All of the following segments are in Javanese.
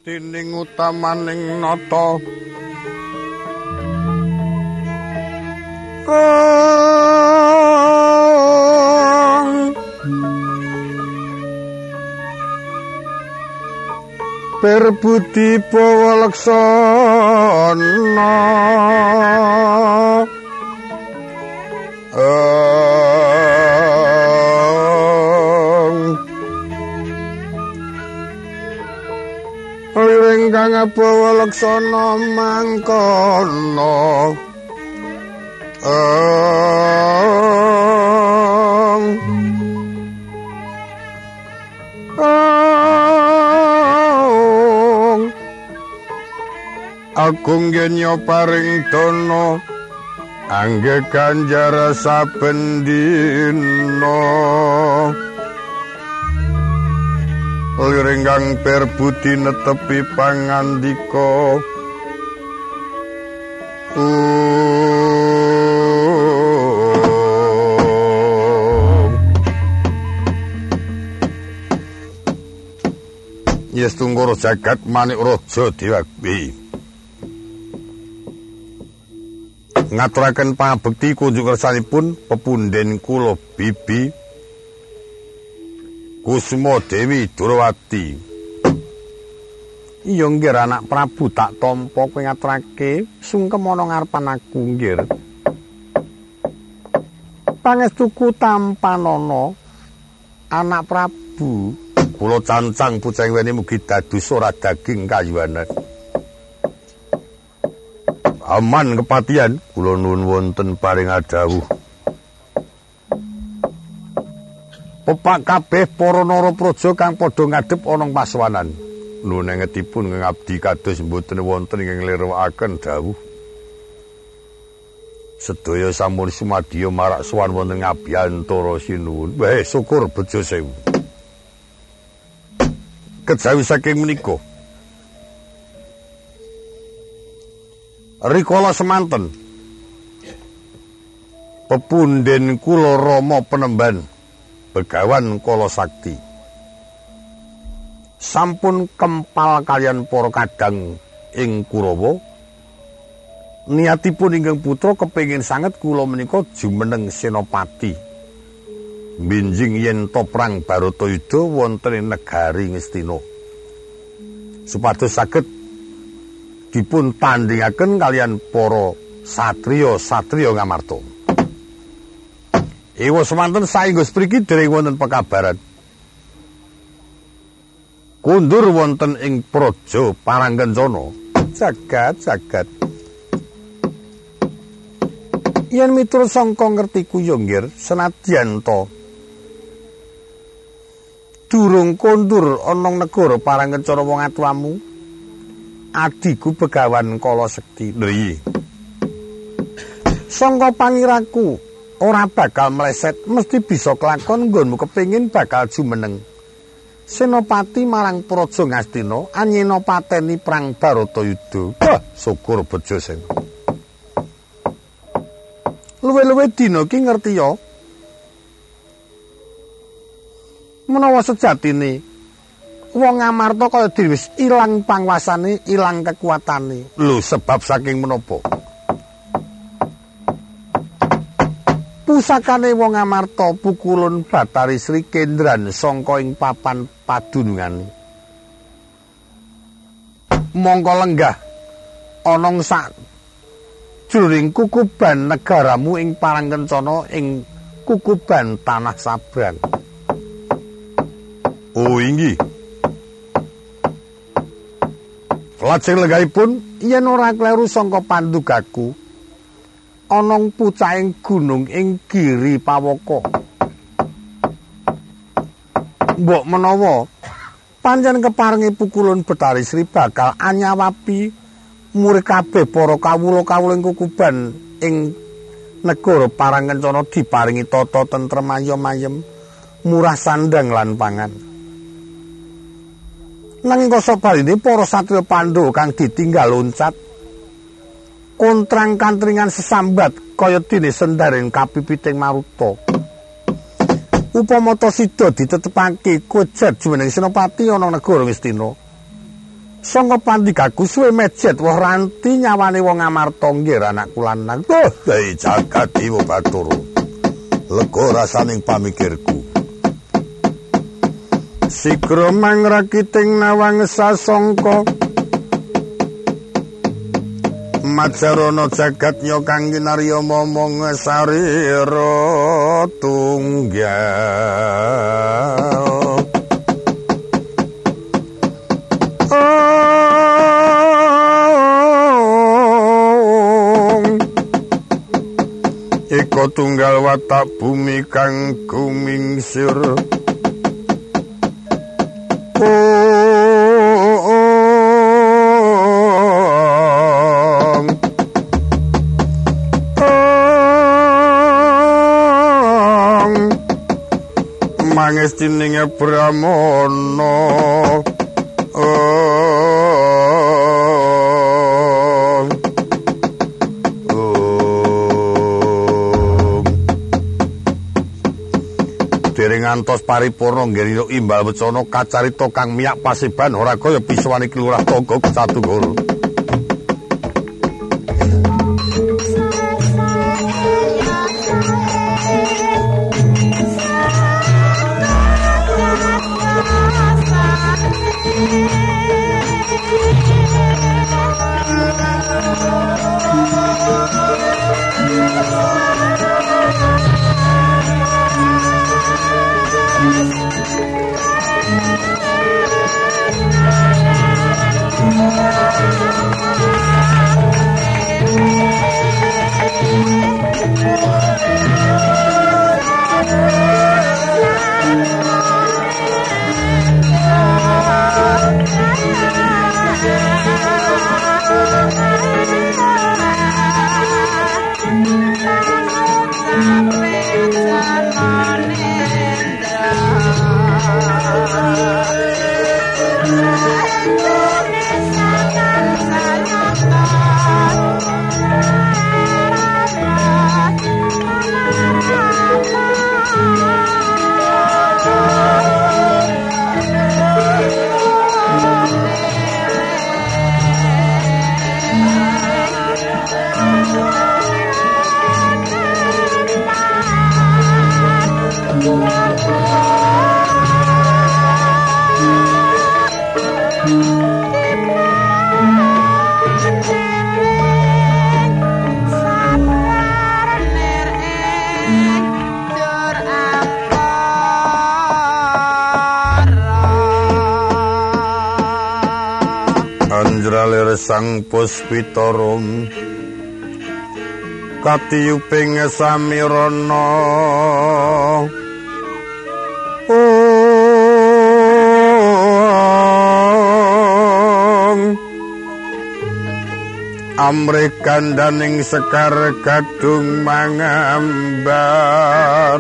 Tining utamaning nata Perbudi Pawalaksana Ingkang Pawalaksana mangkono Agung genya paring dana angge kanjara saben dina Lirenggang perbudi netepi pangandika Yes tunggoro jagat manik raja Dewagwi ngaturaken pangabekti kunjuk kersanipun pepunden kula bibi Kusuma Dewi Durawati. Iya nggih anak Prabu tak tampa kowe ngaturake sungkem ana ngarepan aku nggih. Pangestuku tampanana anak Prabu kula cancang pucang weni mugi dados ora daging kayuanan. Aman kepatian kula nuwun wonten paring adhawuh. Pepak kabeh para narapraja kang padha ngadhep ana pasawanan. Nuwun ngetipun ngabdi kados mboten wonten ing nglirwakaken dawuh. Sedaya sampun sumadya marak sowan wonten ngabiyantara sinuwun. Wah, syukur bejo sewu. Kejawi saking menika. Rikala semanten. Pepunden kula Rama Penemban Begawan Kala Sakti sampun kempal kalian para kadang ing Kurawa niatipun ingkang putra kepengin sanget kula menika jumeneng senopati binjing yen to perang Baratayuda wonten ing negari Ngastina supados saged dipun tandhingaken kalian para satriya ngamarta. Ewa semanten saengga spriki dereng wonten pekabaran. Kundur wonten ing praja Parangkencana. Jagat. Yen miturut sangka ngerti kuyunggir senadyan to durung kondur ana negara Parangkencana wong atuwamu. Adiku Begawan Kala Sekti. Lho iya. Sangka pangiraku ora bakal meleset mesti bisa kelakon nggonmu kepengin bakal jumeneng senopati marang praja Ngastina anyena pateni perang Baratayuda. Wah, syukur bejo sing. Luwe-luwe dina ki ngerti ya. Menawa sejatine wong Ngamarta kaya dhewe wis ilang panguasane, ilang kekuatane. Lho, sebab saking menapa? Pusakane wong Ngamarta pukulun Batari Sri Kendran sangka ing papan padunungan. Mongko lenggah ana sak jroning kukuban negaramu ing Parangkencana ing kukuban Tanah Sabrang. Oh inggih. Lajeng lenggahipun yen ora kleru sangka pandugaku ana pucahing gunung ing Giri Pawaka. Mbok menawa pancen keparengi pukulun Betari Sri bakal anyawapi murid kabeh para kawula-kawula ing kukuban ing negara Parangkencana diparingi tata tentrem ayem-ayem, murah sandang lan pangan. Nanging kasabarine para satriya Pandhawa kang ditinggal loncat kontrang kantringan sesambat kaya dene sendaren kapipiting Maruta. Upama ta sida ditetepake kujet jumeneng senopati ana negara Ngastina. Sangka pandikaku suwe mejet woh ranti nyawane wong Amarta nggih anakku lanang. Duh, dai jagat Dewa Bathara. Lega rasaning pamikirku. Sigra mangrakiting nawang sasangka. Majarana jagatnya kang kinarya momong sarira tunggal. Iko tunggal watak bumi kang gumingsir. Mangestining Brahmana dereng ngantos paripurna nggih imbal wecana kacarita kang miyak pasiban ora kaya pisuwane Kilurah Togog Satunggal. Sang Puspitarum katiyuping samirana amrekandaning sekar gadung mangambar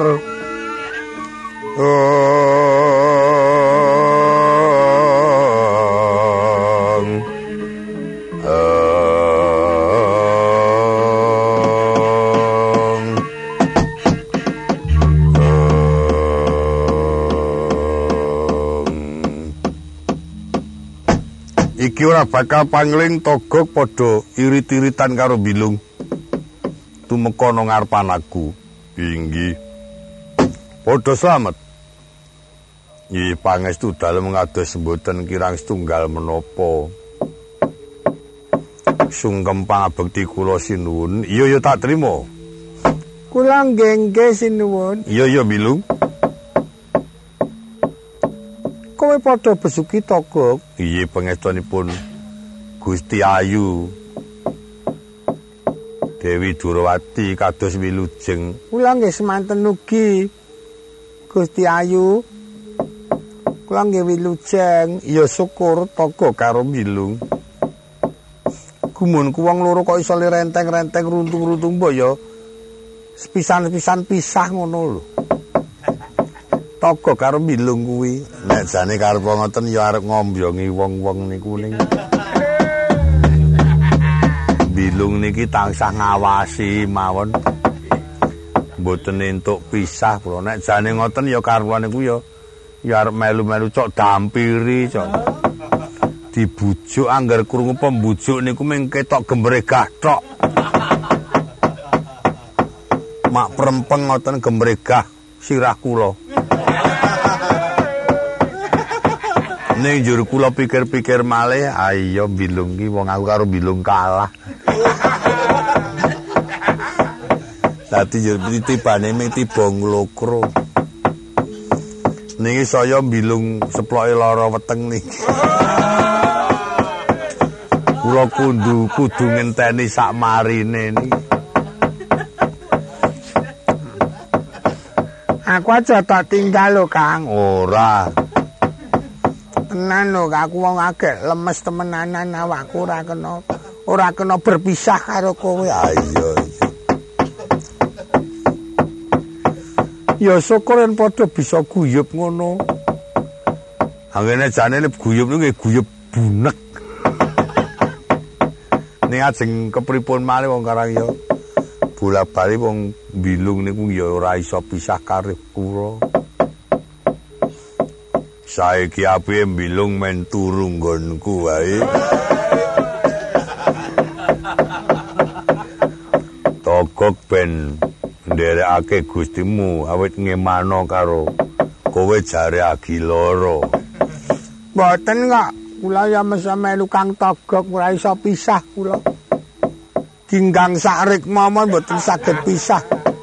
iki ora bakal pangling Togog padha irit-iritan karo Bilung. Tumeka nang ngarepan aku. Inggih. Padha slamet. Nggih pangestu dalem ngados mboten kirang setunggal menapa. Sungkem pangabekti kula sinuwun. Iya tak trima. Kula nggih sinuwun. Iya Bilung. Kowe padha besuki Togog. Iye pangestunipun Gusti Ayu. Dewi Durawati kados wilujeng. Kula nggih semanten ugi Gusti Ayu. Kula nggih wilujeng. Ya syukur Togog karo Bilung. Gumunku wong loro kok iso renteng-renteng runtung-runtung mbok ya sepisan-pisan pisah ngono lho. Togog karo Bilung kuwi nek jane karep ngoten ya arep ngombyongi wong-wong niku ning Bilung niki tansah ngawasi mawon mboten entuk pisah kula nek jane ngoten ya karepane niku ya arep melu-melu cok dampiri cok dibujuk anggar krungu pembujuk niku mung ketok gemregah tok. Mak prempeng ngoten gemregah sirah kula. Ning njur kula pikir-pikir malih, ayo bilung ki wong aku karo bilung kalah. Dadi njur titibane ming tiba nglokro. Niki saya bilung seploke lara weteng niki. Kula kudu ngenteni sak marine niki. Aku aja tak tinggal lho, Kang. Ora. Tenan lho, aku wong agek lemes temenanan awakku ora kena berpisah karo kowe. Ayo. Ya syukur yen padha bisa guyub ngono. Angene jane guyub niku nggih guyub bunek. Ning ajeng kepripun malih wong Karang ya bola-bali wong bilung niku ya ora iso pisah karo kula. Saiki apiye bilung men turu nggonku wae. Togok ben nderekake Gustimu awit ngemano karo kowe jare agi loro. Mboten kok, kula ya melu Kang Togok ora iso pisah kula. Dinggang sakrik momon mboten saged pisah.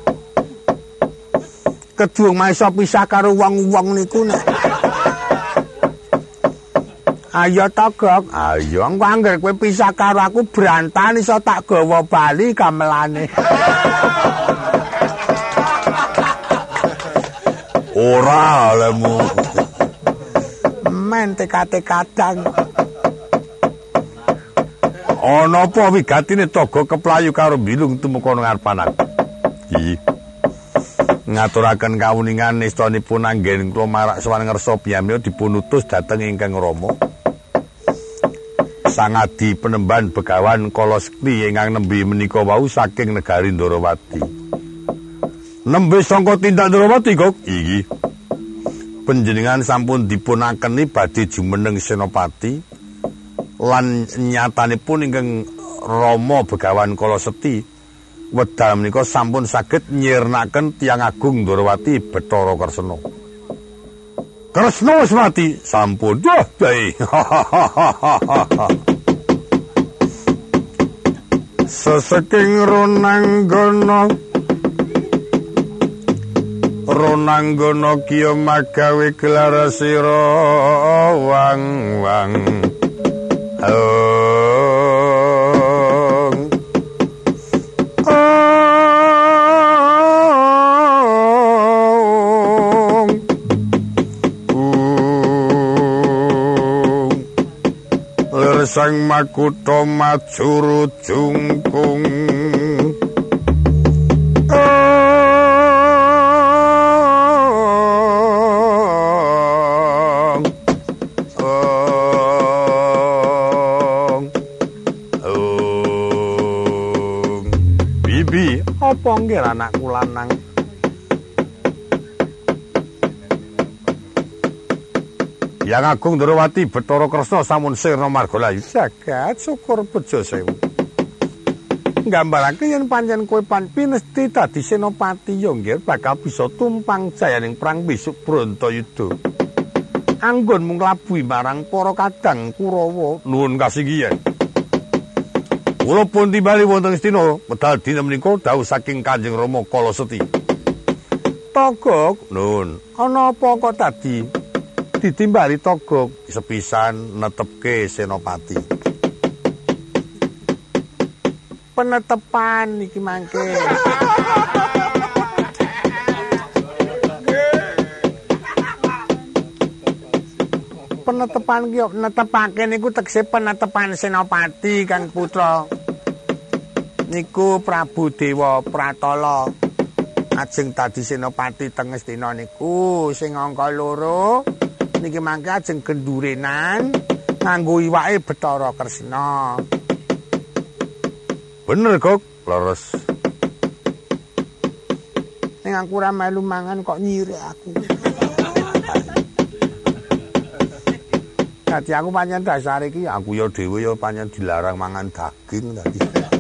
Kedung iso pisah karo wong-wong niku nek. Ayo Togok, ayo engko angger kowe pisah karo aku brantan iso tak gawa bali gamelane. Ora lemu. Men tekate-kadang. Ana apa wigatine Togok keplayu karo bilung tumeka ngarepan aku. Iki. Ngaturaken kawuningan nestanipun anggen kula marak sowan ngersa piyambak dipun utus dhateng ingkang Rama. Sangadi penemban Begawan Kala Sekti ingkang nembe menika wau saking negari Ndarawati. Nembe sangka tindak Ndarawati kok iki. Panjenengan sampun dipunakeni badhe jumeneng Senopati lan nyatanipun ingkang Rama Begawan Kala Sekti wedal menika sampun saged nyirnaken Tiyang Agung Ndarawati Bathara Kresna. Kresna wis mati sampun. Wah, bae. Sasaking Ronanggana kiya magawe gelar sira wang-wang. Sang Makutha majuru jungkung Bibi, apa nggih anakku lanang? Yang Agung Ndarawati Bathara Kresna sampun sirna margalayu jagat syukur bejo sewu. Nggambarake yen pancen kowe pinesti dadi senopati ya nggih bakal bisa tumpang jayaning perang besuk Brantayuda. Anggonmu nglabuhi marang para kadang Kurawa. Nuwun kasinggihan. Kula pun timbali wonten Istina wedal dina menika dawuh saking Kanjeng Rama Kala Sekti. Togok, nuwun. Ana apa kok tadi? Ditimbali Togok sepisan netepke senopati. Penetepan iki mangke. Penetepan ki netepake niku tegese penetepan senopati Kang Putra. Niku Prabu Dewa Pratala ajeng dadi senopati teng Astina niku sing angka 2. Niki mangke ajeng gendurenan nganggo iwake Bathara Kresna. Bener kok, leres. Ning aku ora melu mangan kok nyirek aku. Dadi aku pancen dasar iki aku ya dhewe ya pancen dilarang mangan daging tadi.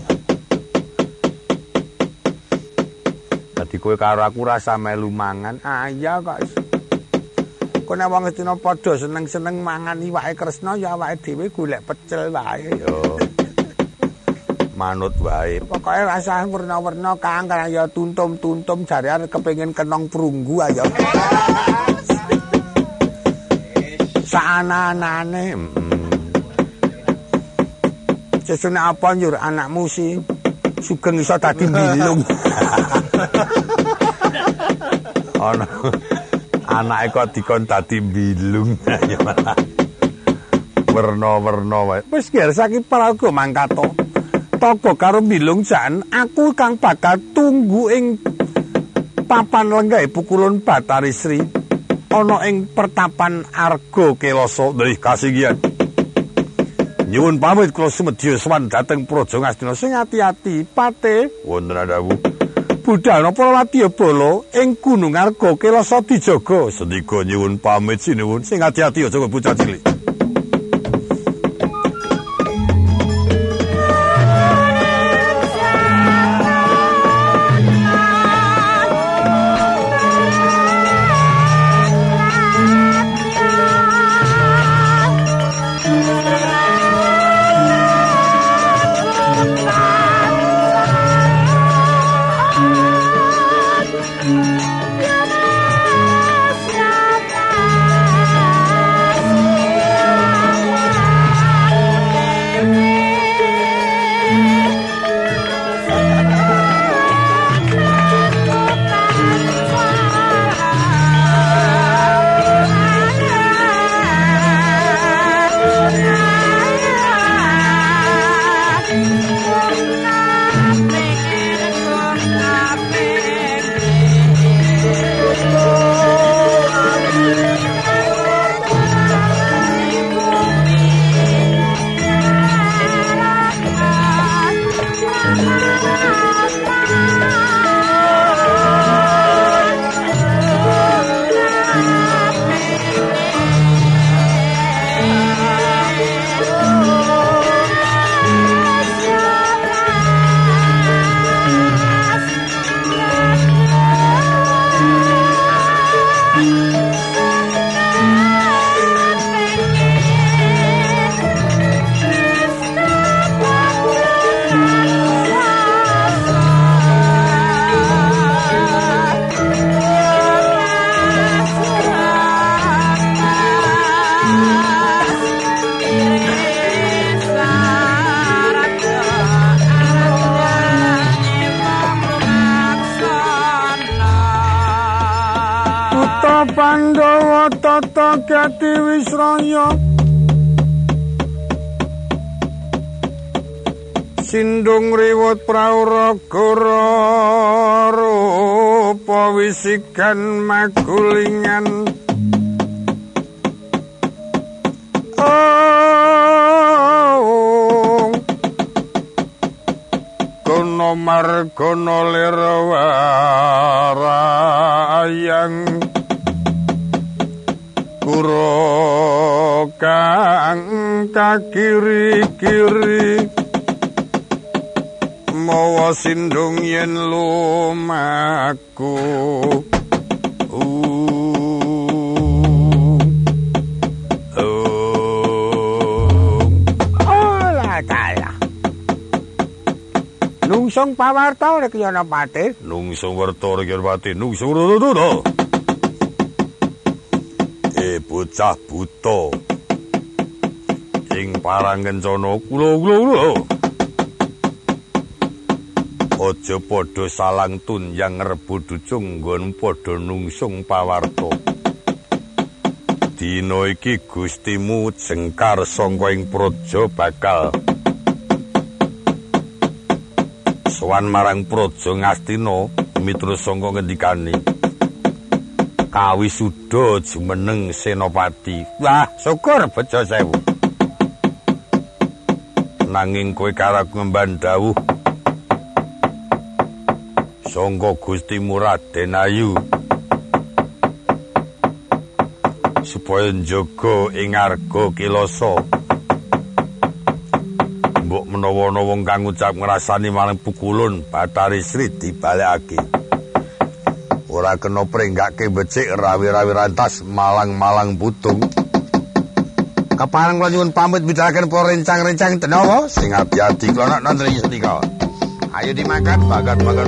Dadi kowe karo aku rasa melu mangan. Ah iya kok. Kowe nek wong Astina padha seneng-seneng mangan iwake Kresna ya awake dhewe golek pecel wae yo. Manut wae. Pokoke rasa werna-werna Kang kaya tuntum-tuntum jare arep kepengin kenong prunggu ayo. Saana-anane. Sesune apa nyur anakmu si sugeng iso dadi bilung. Ana anake kok dikon dadi bilung. Werna-werna wae. Wis ger saiki paraga mangkato. Toko karo bilung jan aku kang bakal tunggu ing papan lenggahe pukulun Batari Sri. Ana ing pertapan Arga Kelasa. Nggih kasinggihan. Nyuwun pamit kula sumedya sowan dhateng Praja Ngastina sing ati-ati pate wonten dawuh. Budal napa wadya bala ing Gunung Arga Kelasa dijaga. Sendika nyuwun pamit sinuwun sing ati-ati aja bocah cilik. Pandhawa tata gati wisraya sindung riwut prauragara rupa wisigan magulingan kono margana lira warayang kuro kang kakiri-kiri mawa sindung yen lumaku Nungsung pawarta rek yana pati nungsung werta rek yana pati nungsung rodo bocah buta ing parang kencana kula aja padha salang tunjang rebut ducung nggon padha nungsung pawarta dina iki gustimu jengkar sangka ing praja bakal sowan marang Praja Ngastina miturut sangka ngendikane kawisuda jumeneng senopati. Wah, syukur bejo sewu. Nanging kowe karo ngemban dawuh sangka Gustimu Raden Ayu supaya njaga ing arga Kilasa. Mbok menawa ana wong kang ngucap ngrasani marang pukulun Bathari Sri dibalekake. Ora kena prenggake becik rawi-rawi rantas malang-malang putung. Kapareng kula nyuwun pamit bidharaken para rencang-rencang tenawa sing ati-ati kula nonton senika. Ayo dimakan bagat-bagat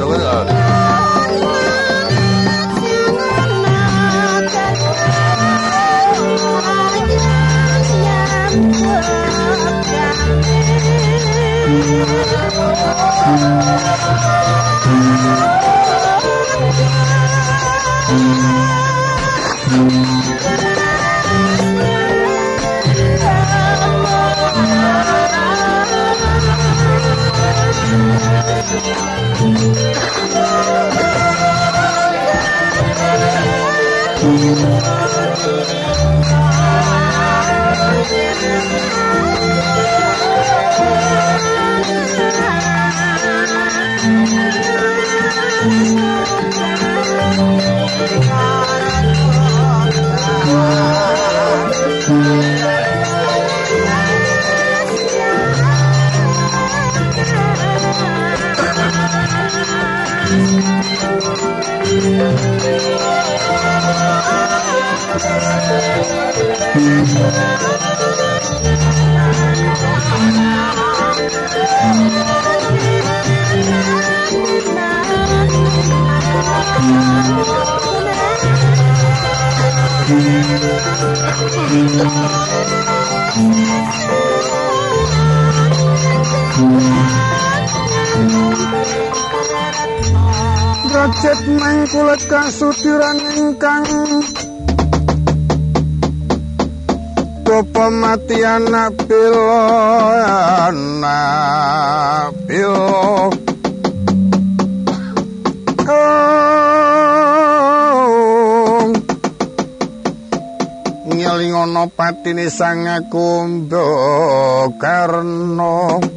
Derajat mangkulat kasudiran ingkang Bapa mati anak bila ngelingono patine sang Kumba Karna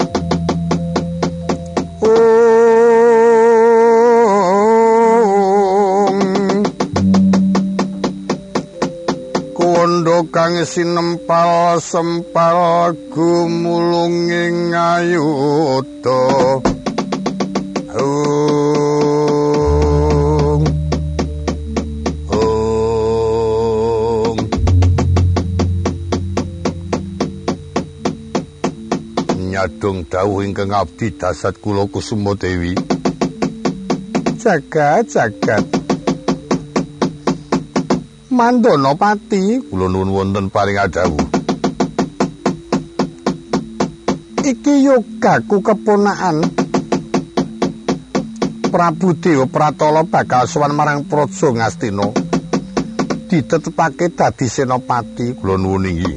Kondo kang sinempal sempal gumulunging ayuda nyadong dawuh ingkang abdi dasat kula Kusuma Dewi jagat Mandana Pati kula nuwun wonten paring adhawuh iki yogaku keponakan Prabu Dewa Pratala bakal sowan marang Praja Ngastina ditetepake dadi senopati kula nuwun inggih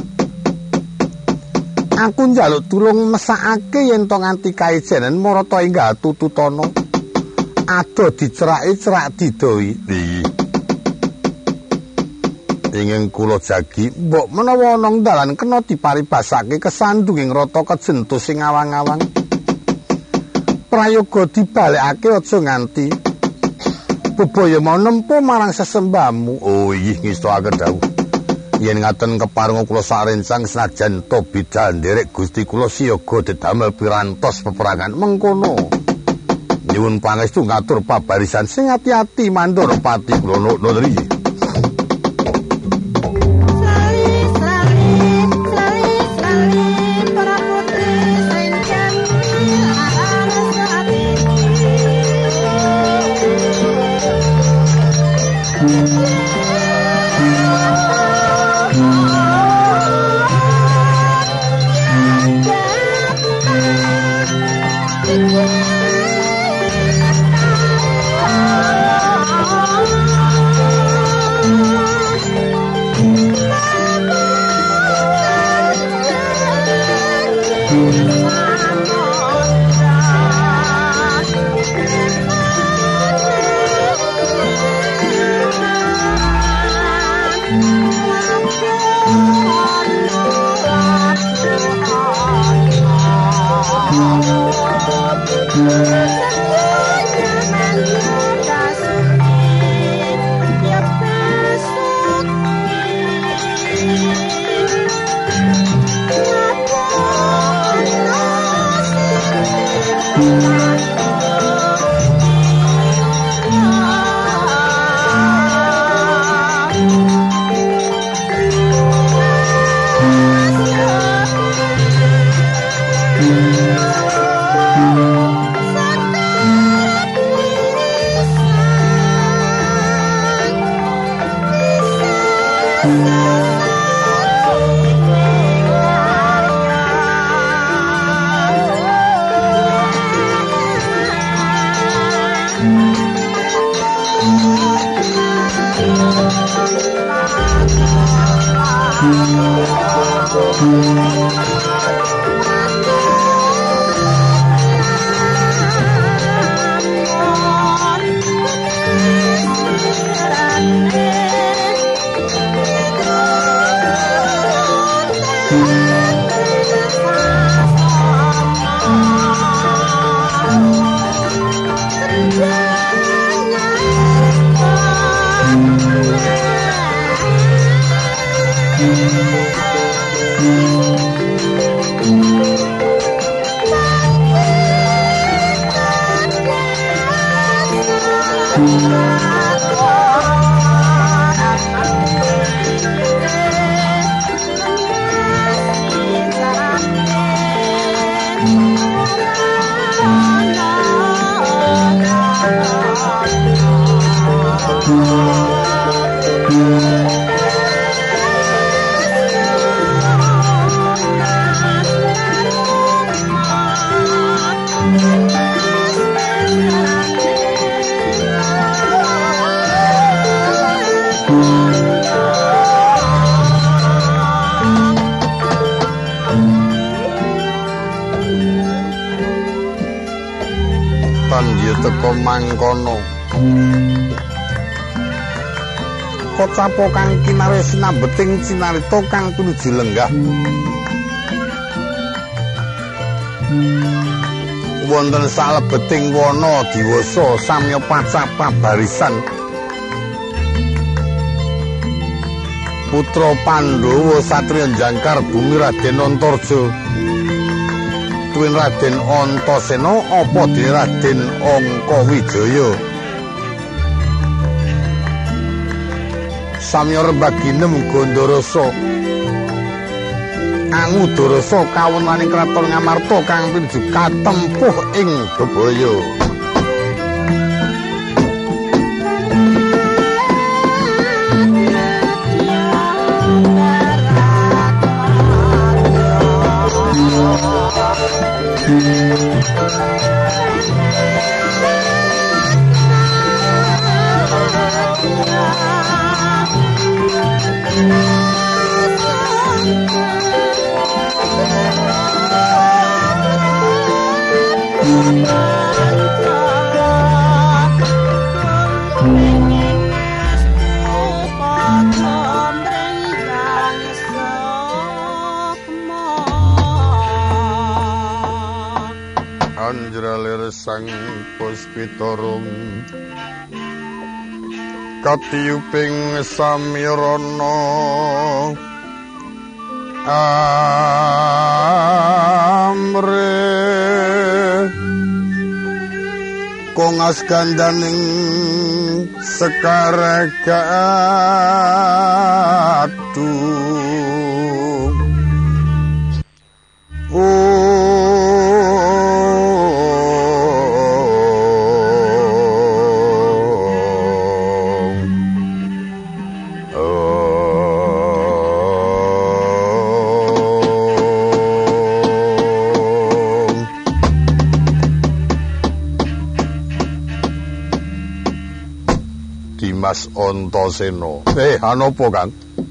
aku njaluk tulung mesakake yen to nganti kaejanen marata enggal tututana ado dicerake cerak didowi ingin kula jagi mbok menawa ana dalan kena diparibasake kesandunging rata kejentus sing awang-awang prayoga dibalekake aja nganti bebaya mau nempuh marang sesembahmu inggih ngestakaken dawuh yen ngaten keparenga kula sarencang senajan to bidal nderek Gusti kula siyaga dedamel pirantos peperangan mengkono nyuwun pangestu ngatur pabarisan sing ati-ati Mandana Pati kula nuwun nggih Teka mangkono Kocapo kang kinarya sinambeting cinarita kang pinuju lenggah wonten salebeting wana diwasa samya pacap pabarisan putra Pandhawa satriya jangkar bumi Raden Antarja tuwin Raden Antasena apa dene Raden Angkawijaya samya rembaginem Gandarasa Angudarasa kawunaning kraton Ngamarta kang pinuju katempuh ing bebaya Anjralir sang puspitarung katiyuping samirana amre kongas gandaning sekaragatu Dimas Antasena. Anapa, Kang?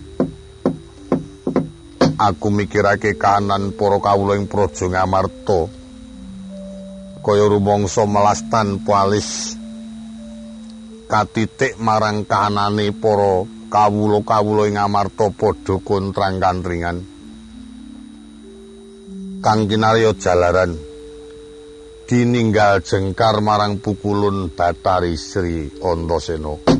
Aku mikirake kahanan para kawula ing Praja Ngamarta. Kaya rumangsa melastan palis katitik marang kahanane para kawula-kawula ing Ngamarta padha kontrang-kantringan. Kang kinarya jalaran dininggal jengkar marang pukulun Bathari Sri Antasena.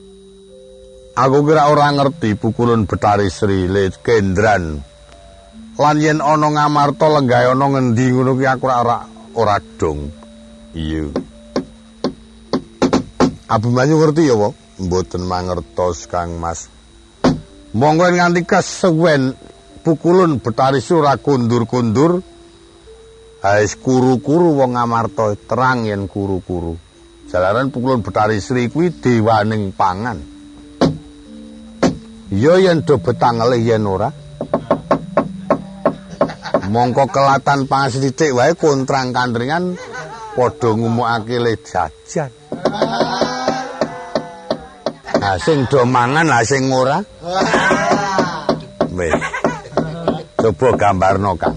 Aku kira ora ngerti pukulun Bathari Sri Kendran Lan yen ana Ngamarta lenggahe ana ngendi ngono ki aku ora dong. Iya. Abimanyu ngerti ya, Pak? Mboten mangertos, Kang Mas. Monggo nganti kesuwen pukulun Betari Sura kundur-kundur. Ais kuru-kuru wong Ngamarta terang yen kuru-kuru. Jalaran pukulun Betari Sri kuwi dewaning pangan. Ya yen do betang ngelih yen ora. Mongko kelatan pangan sithik wae kontrang kandringan padha ngumukake le jajan. Nah sing do mangan lah sing ora. Wis. Coba gambarno, Kang.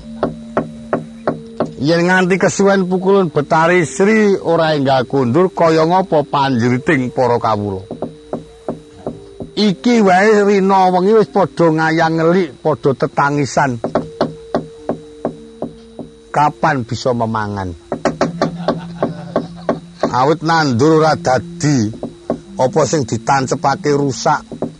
Yen nganti kesuwen pukulun Betari Sri ora enggak kundur kaya ngapa panjriting para kawula. Iki wae rina wengi wis padha ngayang ngelik, padha tetangisan. Kapan bisa memangan? Awit nandur ora dadi, apa sing ditancepake rusak.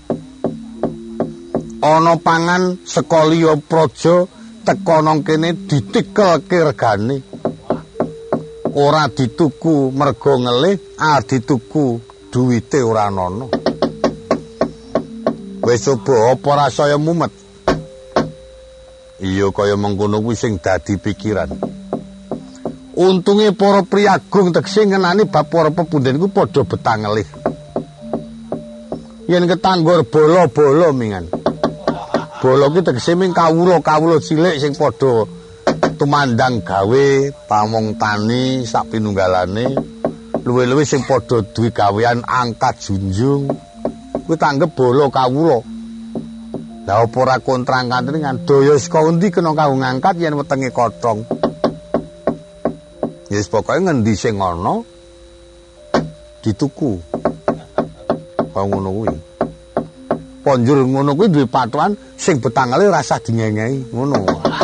Ana pangan saka liya praja teka nang kene ditikelke regane. Ora dituku mergo ngelih, dituku duwite ora ana. Wis coba apa rasaya mumet? Iya kaya mengkono kuwi sing dadi pikiran. Untunge para priyagung tegese ngenani bab para pepundhen ku padha betang ngelih. Yen ketanggor bola-bola mingan. Bola ki tegese ming kawula-kawula cilik sing padha tumandang gawe, pamong tani sak pinunggalane, luwih-luwih sing padha duwe gawean angkat junjung. Kuwi tanggep bola kawula. Lah apa ora kontrang kantringan daya saka endi kena kanggo ngangkat yen wetenge kothong. Ya wis pokoke ngendi sing ana dituku. Kaya ngono kuwi. Ponjur ngono kuwi duwe patokan sing betangale rasa dingengehi ngono.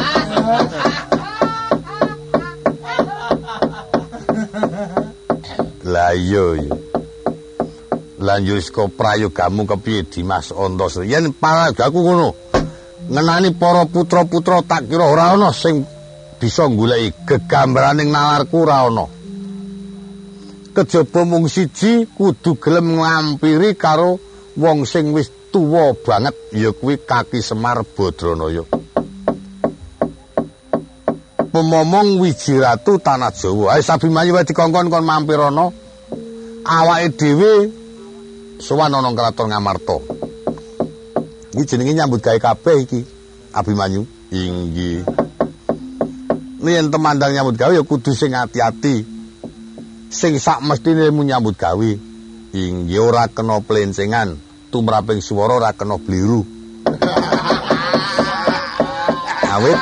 Lah iya. Lanjut saka prayogamu kepiye Dimas Antasari? Yen parayogaku ngono. Ngenani para putra-putra tak kira ora ana sing bisa goleki gegambaraning nalarku ora ana. Kejaba mung siji kudu gelem ngampiri karo wong sing wis tuwa banget ya kuwi Kaki Semar Badranaya. Pemomong wiji ratu tanah Jawa. Ayo Sabimanyu wae dikongkon kon mampir ana. Awake dhewe sowan ana kraton Ngamarta. Iki jenenge nyambut gawe kabeh iki, Abimanyu. Inggih. Yen temandang nyambut gawe ya kudu sing ati-ati. Sing sak mestine nyambut gawe. Inggih ora kena plencengan, tumraping swara ora kena bliru. Awit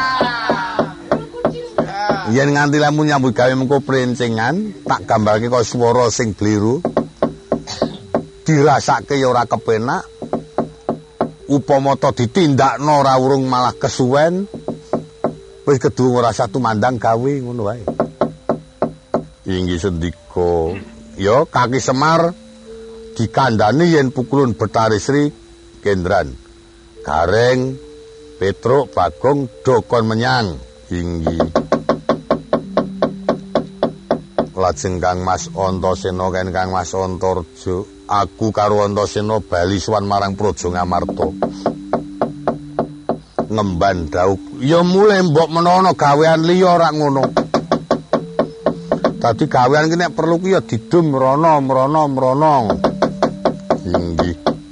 yen nganti lamun nyambut gawe mengko plencengan, tak gambarke kaya swara sing bliru. Dirasake ya ora kepenak. Upama ta ditindakno ora urung malah kesuwen. Wis kedu ora satu mandang gawe ngono wae. Inggih sendika. Ya Kaki Semar dikandhani yen pukulun Betari Sri kendran. Gareng Petruk Bagong dokon menyang. Inggih. Lajeng Kang Mas Antasena kan Kang Mas Antarja. Aku karo Antasena bali sowan marang Praja Ngamarta. Ngemban dauk. Ya mulai mbok menawa gawean liya ora ngono. Dadi gawean ki nek perlu ki ya didum mrana. Inggih.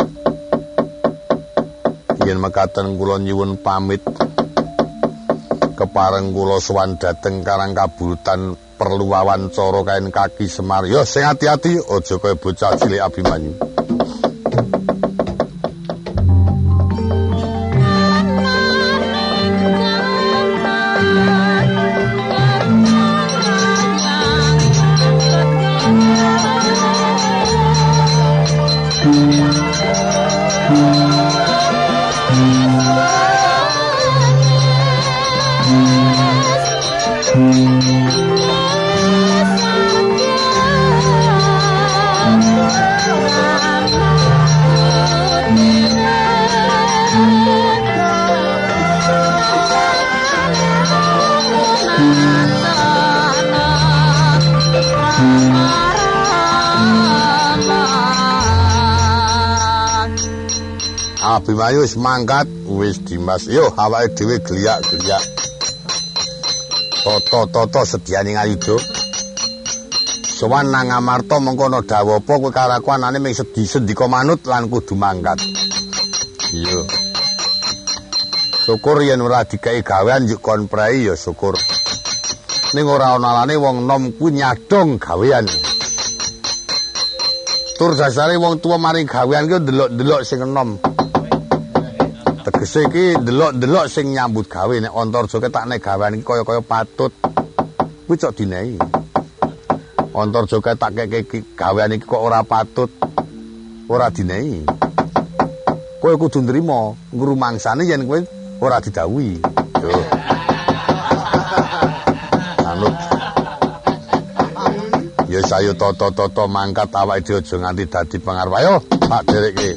Yen mekaten kula nyuwun pamit. Kepareng kula sowan dhateng Karang Kaburutan perlu wawancara kain Kaki Semar. Yo sing ati-ati aja kaya bocah cilik Abimanyu. Abimanyu wis mangkat, wis Dimas. Yo awake dhewe geliak-geliak. Toto sediane ngayuda. Sowan nang Amarta mengkono dawuh apa kowe karakuanane ming sendika manut lan kudu mangkat. Iya. Syukur yen ora dikai gawean yuk kon prei ya syukur. Ning ora ana alane wong nom kuwi nyadong gawean. Tur dasare wong tuwa maring gawean ki ndelok-ndelok sing enom. Tegese iki ndelok-ndelok sing nyambut gawe nek Antarja ketakne gawean iki kaya-kaya patut. Kuwi cok dinehi. Antarja ketak gawean iki kok ora patut. Ora dinehi. Kowe kudu nrimo ngrumangsane yen kowe ora didhawuhi. Yo. Anut. Ya sayo toto mangkat awake dhewe aja nganti dadi pengarep. Ayo, tak derekke.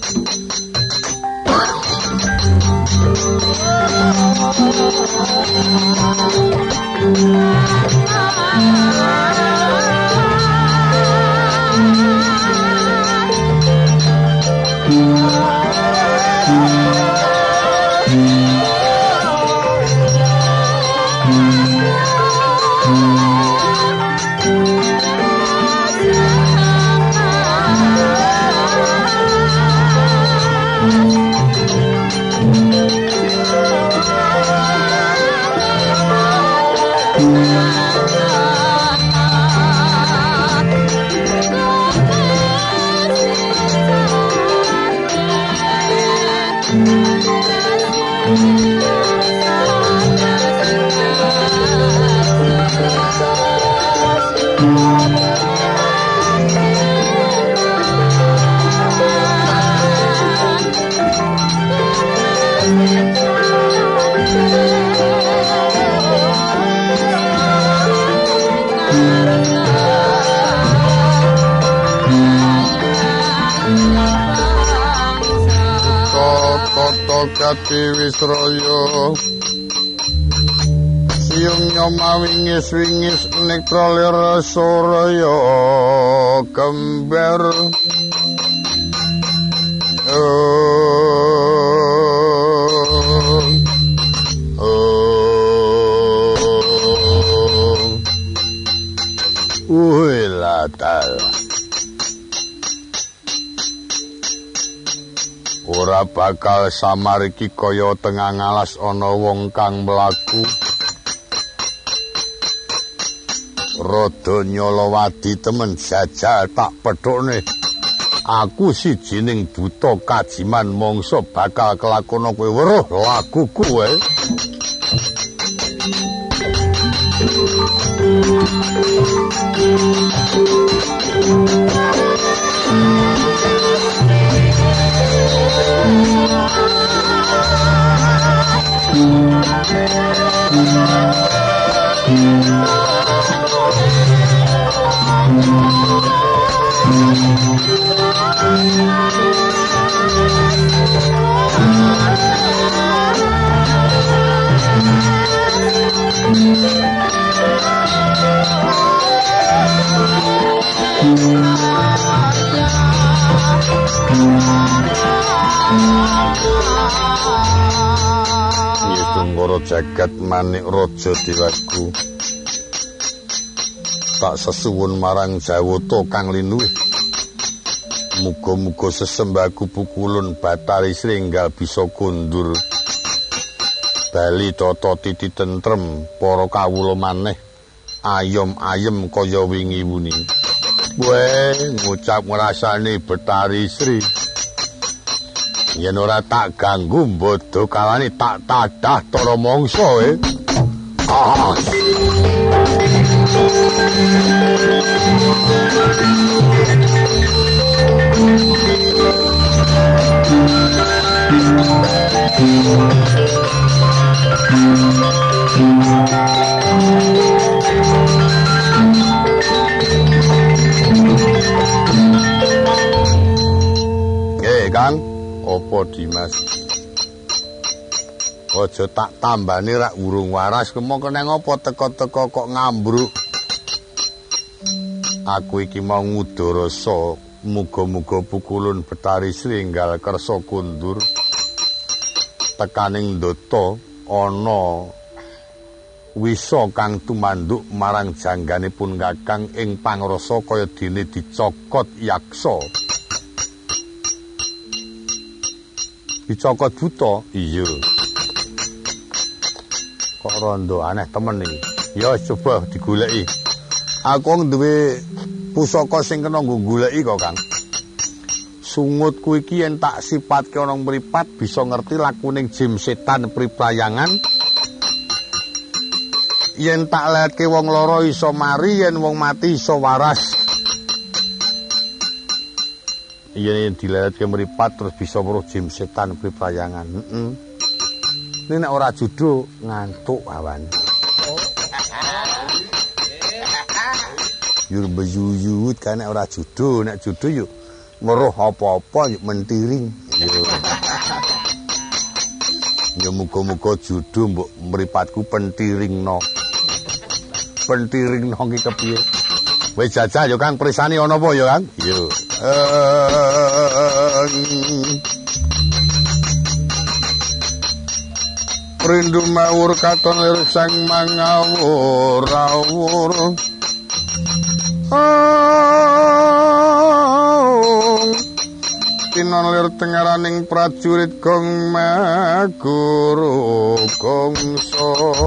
Kati Wisraya siung nyomawingis-wingis nektra lir soraya kembar latal ora bakal samar iki kaya tengah ngalas ana wong kang mlaku rada nyolowadi temen jajal tak pedhokne aku sijining buta kajiman mangsa bakal kelakona kowe weruh lakuku wae Tunggoro jagat manik raja diwaku tak sesuwun marang Jawata kang linuwih muga-muga sesembaku pukulun Batari Sringgal bisa kundur bali tata titi tentrem para kawula maneh ayem-ayem kaya wingi wuni kowe ngucap ngrasani Batari Sri yen ora tak ganggu bodho kalane tak tadah tara mangsa Kang opo Dimas aja tak tambani rak urung waras kemong keneng apa teko-teko kok ngambruk aku iki mau ngudharasa Muga-muga pukulun Betari Sri enggal kersa kundur tekaning ndata ana wisa kang tumanduk marang jangganipun Kakang ing pangrasa kaya dene dicokot yaksa. Dicokot buta? Iya. Kok rondo aneh temen iki. Ya coba digoleki. Aku duwe pusaka sing kena nggo goleki kok, Kang. Sungutku iki yen tak sipatke ana mripat bisa ngerti lakuning jim setan priprayangan. Yen tak letke wong lara iso mari, yen wong mati iso waras. Yen diletke mripat terus bisa weruh jim setan priprayangan. Ini nek ora judo ngantuk awan. Yur beyuyut kan nek ora judo, nek judo yuk weruh apa-apa yuk mentiring. Ya muga-muga judo mbok mripatku pentiringno. Pentiringno ki kepiye? Wis jajal yo Kang, prisani ana apa yo Kang? Yo. Rindu mawur katon lir sang mangawur-awur. Tinon lir tengaraning prajurit gong maguru gongso.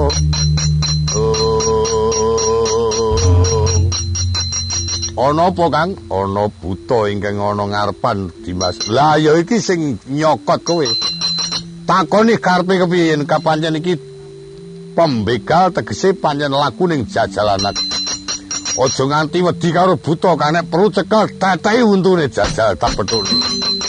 Ana apa Kang? Ana buta ingkang ana ngarepan Dimas. Lah ya iki sing nyokot kowe. Takoni karepe kepiye yen kapancen iki pembegal tegese pancen laku ning jajalanan. Aja nganti wedi karo buta Kang, nek perlu cekel tetehi untune jajal tak petuni.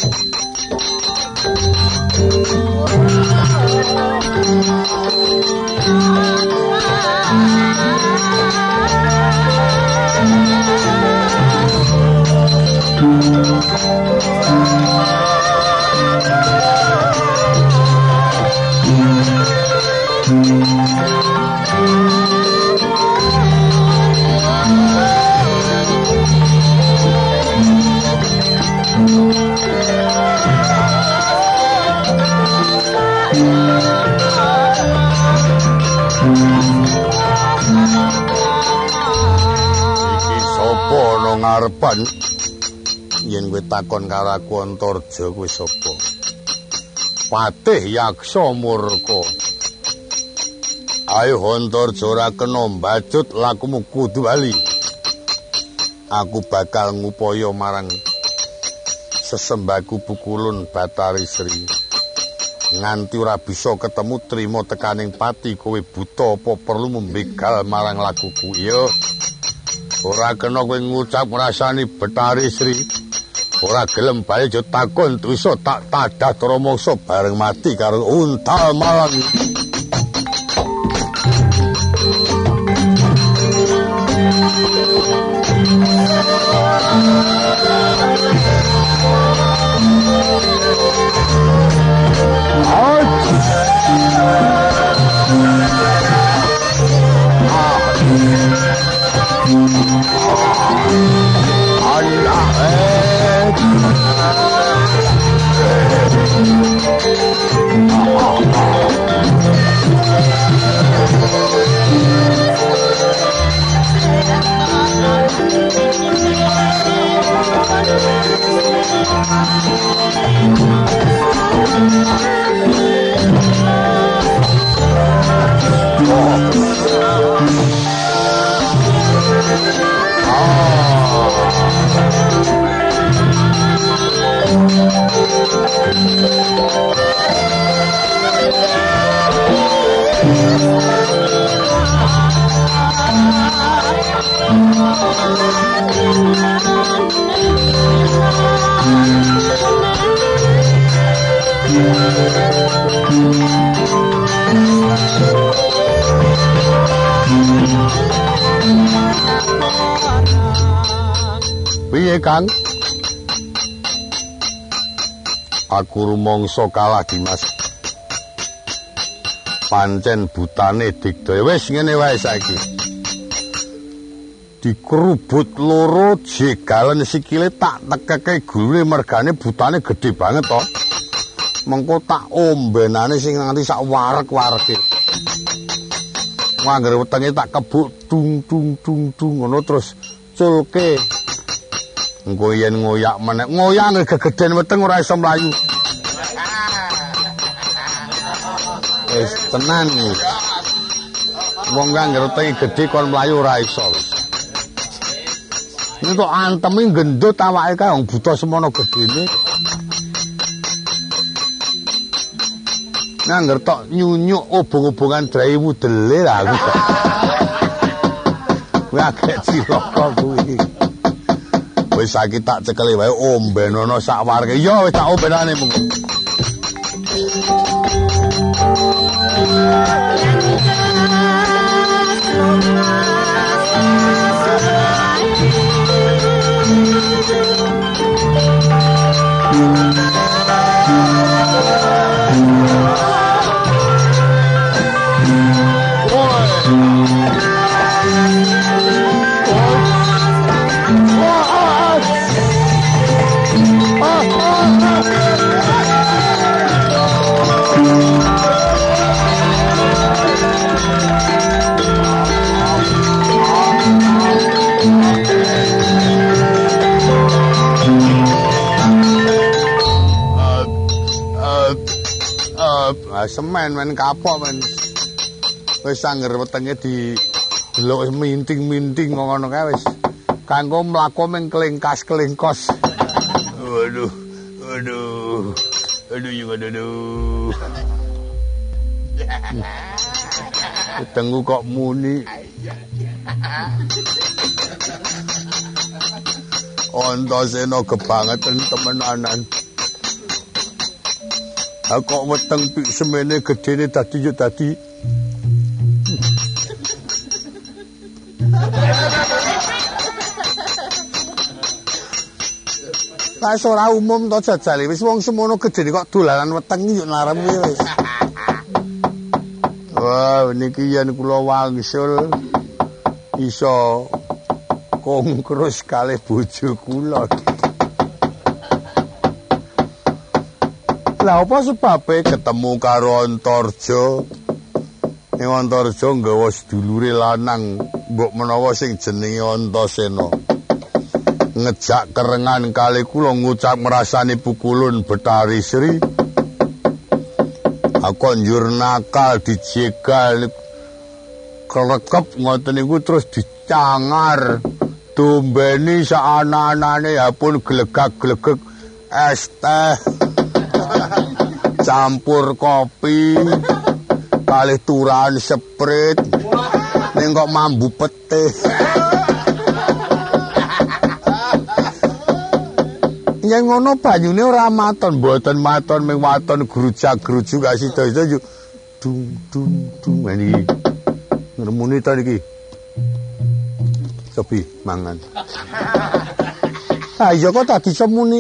Ngarepan yen kowe takon karo aku Antarja kowe sapa? Patih Yaksa Murka. Ayo Antarja ora kena mbacut lakumu kudu bali. Aku bakal ngupaya marang sesembaku pukulun Batari Sri. Nganti ora bisa ketemu trima tekaning pati kowe buta apa perlu membegal marang lakuku. Yo. Ora kena kowe ngucap ngrasani Betari Sri. Ora gelem bali yo takon dosa tak tadah tramangsa bareng mati karo unta malang. Piye Kang? Aku rumangsa kalah Dimas. Pancen butane Digdaya. Wis ngene wae saiki. dikerubut loro jegalan sikile tak tekeke gulune mergane butane gede banget to. Mengko tak ombenane sing nganti sak warek-wareke. Anggere wetenge tak kebuk dung ngono terus culke. Engko yen ngoyak meneh, ngoyak gegeden weteng ora iso mlayu. Wis tenan iki. Wong anggere wetenge gedhe kon mlayu ora iso. Ini kok anteme gendut awake kae wong buta semono gedene. Nangger tok nyunyuk obong-obongan drai mudele lah aku. Kuwi agek cilaka kuwi. Wis saiki tak cekeli wae ombenono sak warga. Ya wis tak ombenane mung. Semen men kapok men. Wis angger wetenge delok minting-minting ngono kae wis. Kanggo mlaku ming kelingkas-kelingkos. Aduh. Tengu kok muni. Antasena kebangetan temenanan. Kok weteng pik semene gedene dadi yo dadi. Lah ora umum to jajal wis wong semono gedene kok dolanan weteng yo narem wis. Wah niki yen kula wangsul iso kongkrus kalih bojo kula. Lah apa sebabe ketemu karo Antarja? Ning Antarja nggawa sedulure lanang mbok menawa sing jenenge Antasena. Ngejak kerengan kali kula ngucap ngrasani pukulun Betari Sri. Aku njur nakal dijegal kelekep ngoten niku terus dicangar. Dombeni sak ana-anane ya pun glegak-glegek es teh. Campur kopi kalih turan seprit ning kok mambu pete yen ngono banyune ora maton mboten maton ming waton grujak-grujuk gak sida-sida yo dung iki ngremuni ta iki sepi mangan ayo kok tak disemuni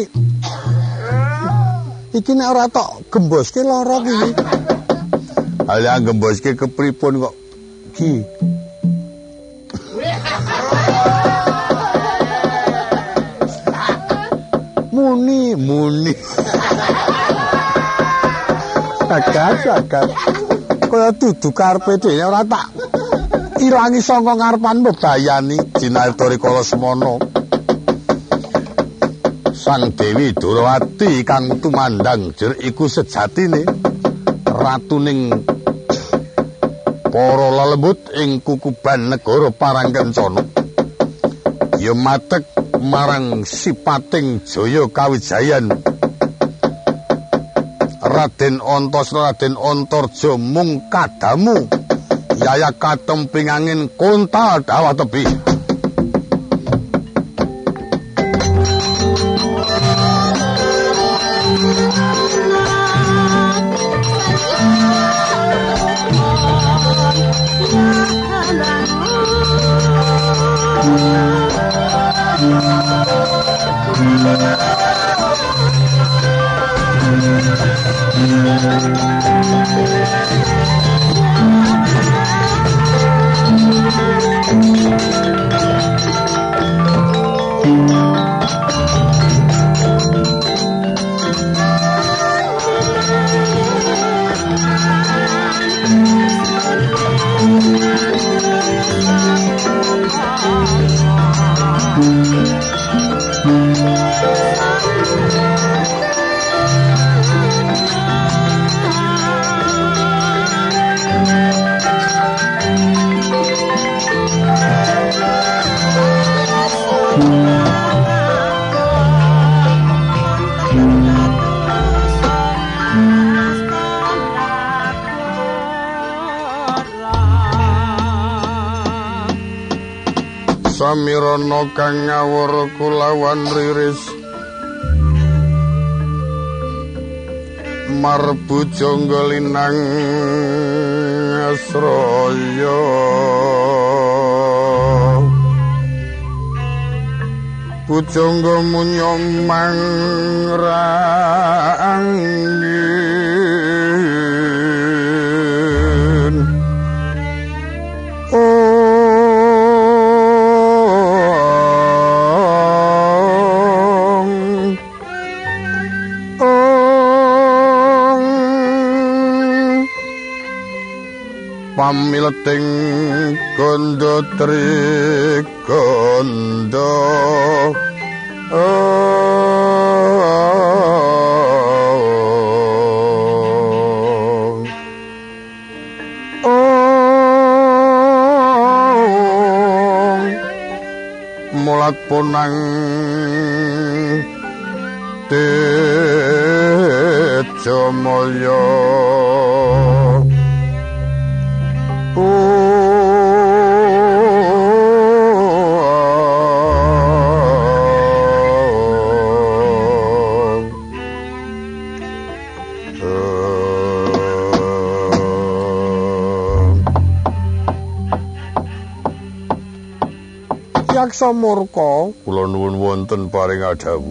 iki nek ora tok gemboske lara iki. Ala gemboske kepripun kok ki. Muni. Agak. Kaya dudu karepe dhewe ora tak ilangi saka ngarepan mbebayani Jinartari Kala Semana. Sang Dewi Durawati kang tumandang jer iku sejatine ratuning para lelembut ing kukuban negara Parangkencana. Ya matek marang sipating jaya kawijayan. Raden Antasena Raden Antarja mung kadamu yaya katemping angin kontal dawa tebih. samirana kang ngawur kulawan riris marbu jangga linang asraya pujangga munya mangrangin pamileting kandha trikandha mulat punang Tejamaya Yaksa murka kula nuwun wonten paring adawu.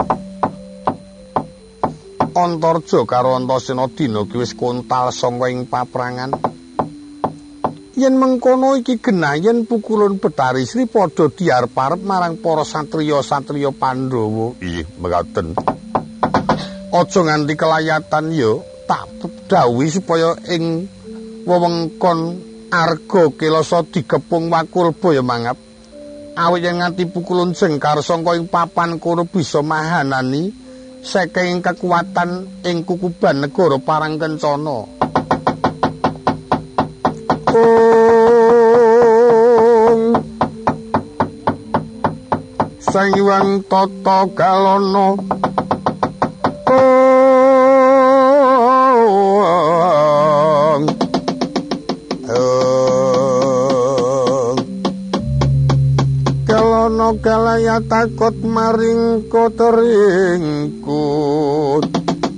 Antarja karo Antasena dina ki wis kontal sanga ing paprangan. Yen mengkono iki genah yen pukulun Betari Sri padha diarep-arep marang para satriya-satriya Pandhawa. Ih, mekaten. Aja nganti kelayatan ya, tak dawuhi supaya ing wewengkon Arga Kelasa digepung Wakulba ya mangap. Awit yen nganti pukulun Jengkar sangka ing papan kono bisa mahanani saking kekuatan ing kukuban negara Parangkencana. Sang Hyang Tata Galana kalaya takut maring koteringkut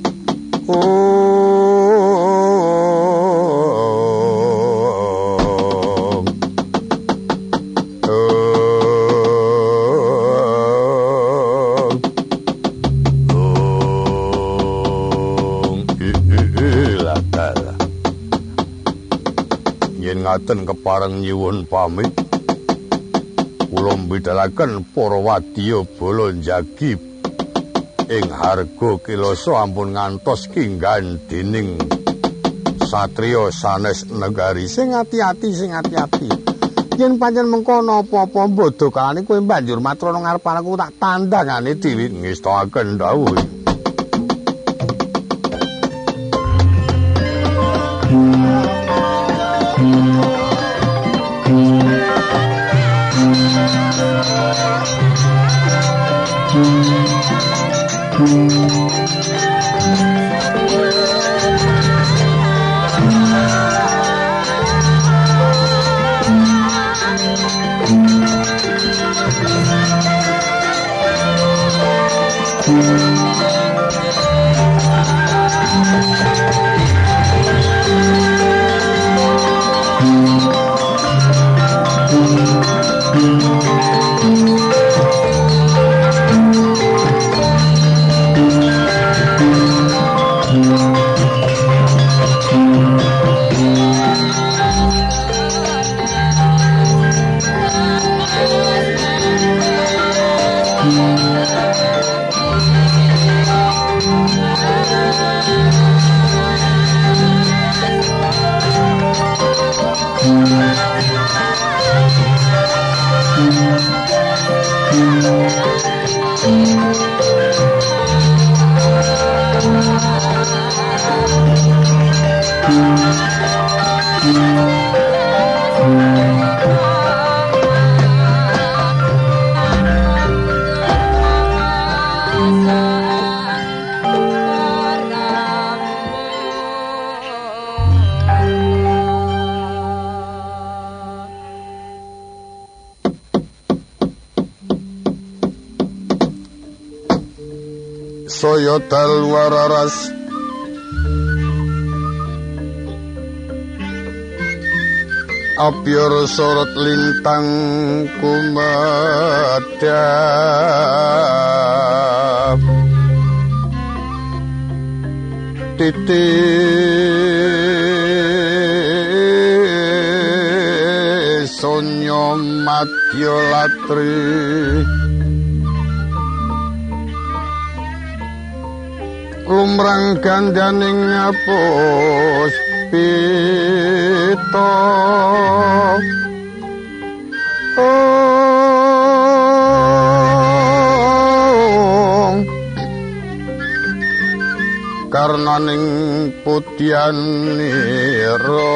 yen ngaten kepareng nyuwun pamit kula mbedhalaken para wadya bala njagi ing Harga Kelasa ampun ngantos kinggan dening satriya sanes negari. Sing ati-ati yen pancen mengkono apa-apa bodho kalane kowe banjur matur nang ngarep aku tak tandangane dhewe ngestakaken dawuh. saya dalu wararas abyar sorot lintang kumadhap titik sonya madya latri lumrang gandaning ngapus pita karnaning putyanira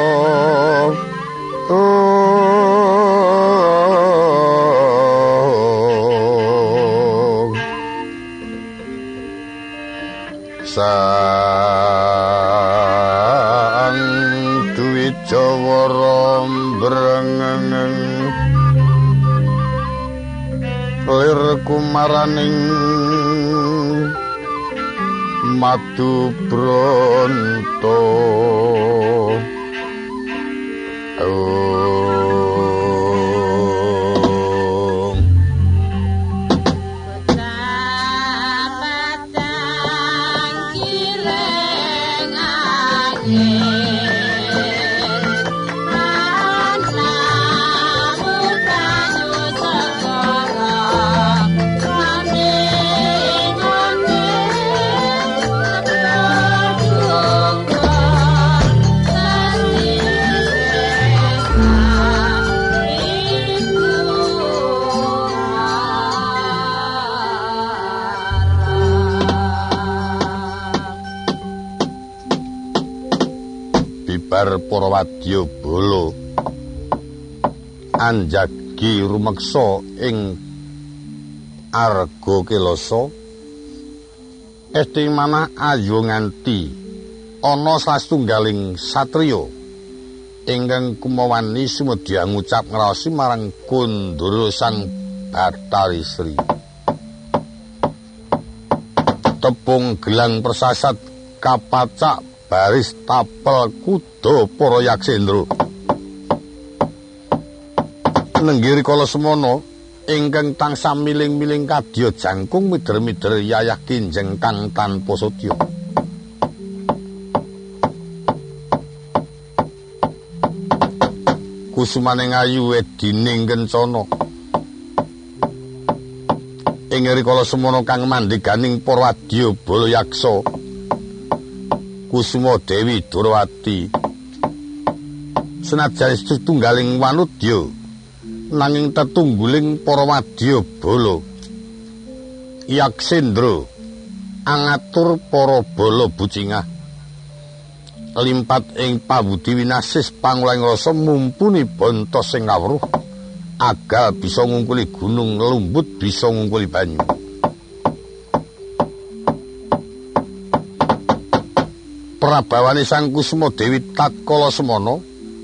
sang duwi jawara brengeng lir kumaraning madu bronto para wadya bala anjagi rumeksa ing arga kelasa esti manah ayu nganti ana satunggaling satriya ingkang kumawani sumedya ngucap ngraosi marang Kundara sang Bathari Sri tepung gelang persasat kapacak baris tapel kuda para yaksendra nenggiri kala semana ingkang tansah miling-miling kadya jangkung mider-mider yayah kinjeng kang tanpa satya kusumaning ayu edining kencana ing rikala semana kang mandheganing para wadya bala yaksa Kusuma Dewi Durawati senajan setunggaling wanudya nanging tetungguling para wadya bala yaksendra angatur para bala bucingah limpat ing pabudi winasis pangulang rasa mumpuni bontos sing kawruh agal bisa ngungkuli gunung lumbut bisa ngungkuli banyu prabawane Sang Kusuma Dewi tatkala semana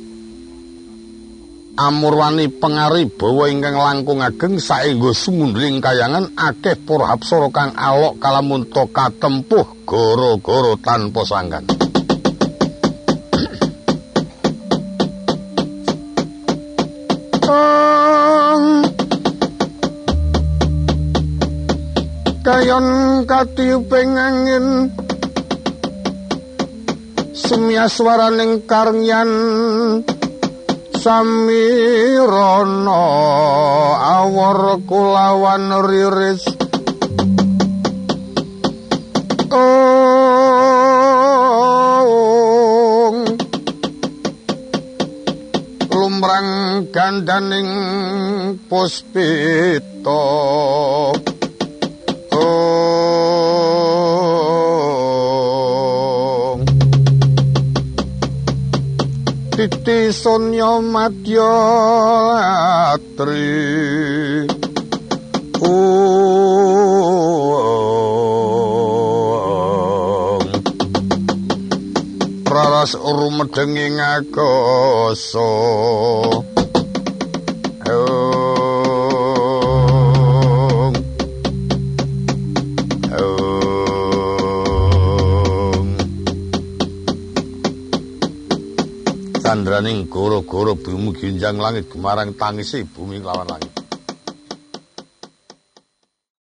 amurwani pangaribawa ingkang langkung ageng saengga sumundring kayangan akeh para apsara kang alok kalamunta katempuh gara-gara tanpa sanggan kayon katiuping angin sumyaswaraning karyan samirana awor kulawan riris lumrang gandaning puspita titi sonya madya latri praras rumedeng ing akasa Nanging gara-gara bumi ginjang langit gemarang tangisi bumi lawan langit.